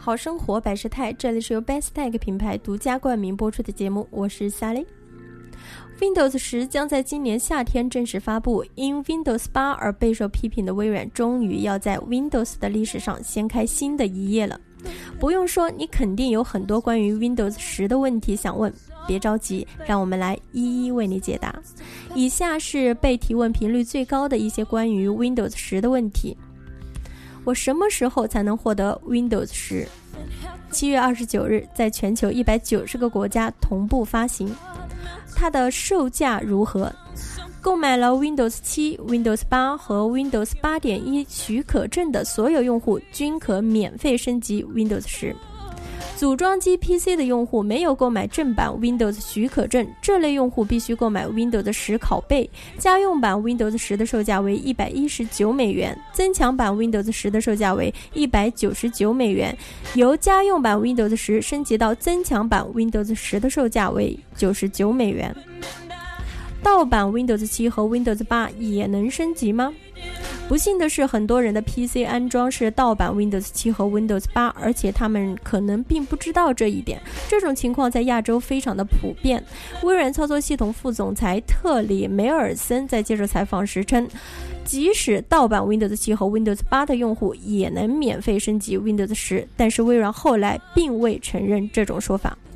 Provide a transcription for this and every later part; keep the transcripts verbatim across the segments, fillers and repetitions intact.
好生活百事泰，这里是由 Bestech 品牌独家冠名播出的节目，我是 Sally。Windows 十将在今年夏天正式发布，因 Windows 八而备受批评的微软终于要在 Windows 的历史上掀开新的一页了。不用说，你肯定有很多关于 Windows 十的问题想问，别着急，让我们来一一为你解答。以下是被提问频率最高的一些关于 Windows 十的问题。我什么时候才能获得 Windows 十？ 七月二十九日在全球一百九十个国家同步发行。它的售价如何？购买了 Windows 七、Windows 八和 Windows 八点一 许可证的所有用户均可免费升级 Windows 十。组装机 P C 的用户没有购买正版 Windows 许可证，这类用户必须购买 Windows 十拷贝。家用版 Windows 十的售价为一百一十九美元，增强版 Windows 十的售价为一百九十九美元。由家用版 Windows 十升级到增强版 Windows 十的售价为九十九美元。盗版 Windows 七和 Windows 八也能升级吗？不幸的是，很多人的 P C 安装是盗版 Windows 七和 Windows 八，而且他们可能并不知道这一点。这种情况在亚洲非常的普遍。微软操作系统副总裁特里梅尔森在接受采访时称，即使盗版 Windows 七和 Windows 八的用户也能免费升级 Windows 十，但是微软后来并未承认这种说法。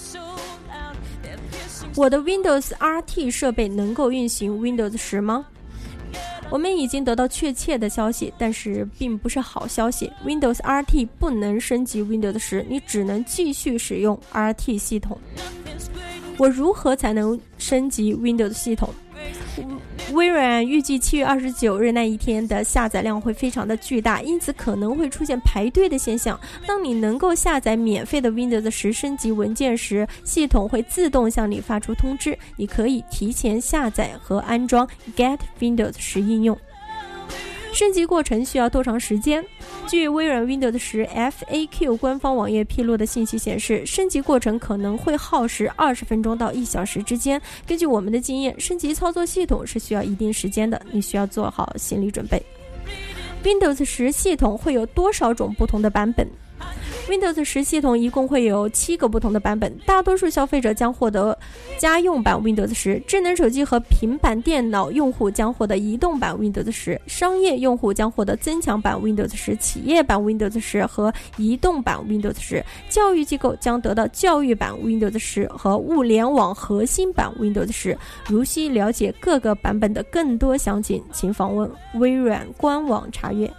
我的 Windows R T 设备能够运行 Windows 十吗？我们已经得到确切的消息，但是并不是好消息。Windows R T 不能升级 Windows 十，你只能继续使用 R T 系统。我如何才能升级 Windows 系统？微软预计七月二十九日那一天的下载量会非常的巨大，因此可能会出现排队的现象。当你能够下载免费的 Windows 十升级文件时，系统会自动向你发出通知，你可以提前下载和安装 Get Windows 十应用。升级过程需要多长时间？据微软 Windows 十 F A Q 官方网页披露的信息显示，升级过程可能会耗时二十分钟到一小时之间。根据我们的经验，升级操作系统是需要一定时间的，你需要做好心理准备。Windows 十系统会有多少种不同的版本？Windows 十系统一共会有七个不同的版本，大多数消费者将获得家用版 Windows 十，智能手机和平板电脑用户将获得移动版 Windows 十，商业用户将获得增强版 Windows 十、企业版 Windows 十和移动版 Windows 十，教育机构将得到教育版 Windows 十和物联网核心版 Windows 十。如需了解各个版本的更多详情，请访问微软官网查阅。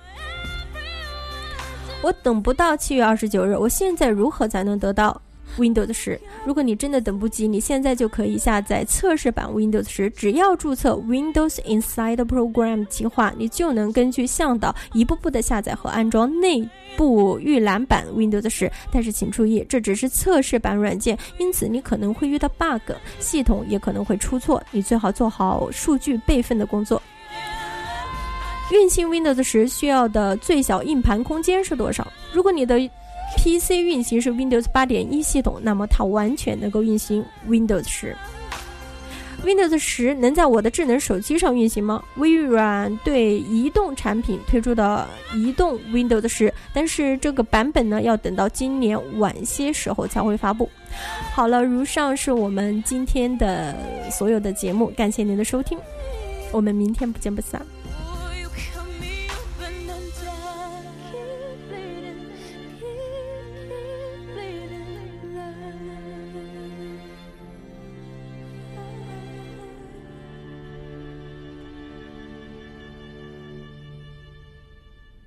我等不到七月二十九日，我现在如何才能得到 Windows 十？如果你真的等不及，你现在就可以下载测试版 Windows 十，只要注册 Windows Inside Program 计划，你就能根据向导一步步的下载和安装内部预览版 Windows 十。但是请注意，这只是测试版软件，因此你可能会遇到 bug， 系统也可能会出错，你最好做好数据备份的工作。运行 Windows 十需要的最小硬盘空间是多少？如果你的 P C 运行是 Windows 八点一 系统，那么它完全能够运行 Windows 十。Windows 十能在我的智能手机上运行吗？微软对移动产品推出的移动 Windows 十，但是这个版本呢，要等到今年晚些时候才会发布。好了，如上是我们今天的所有的节目，感谢您的收听，我们明天不见不散。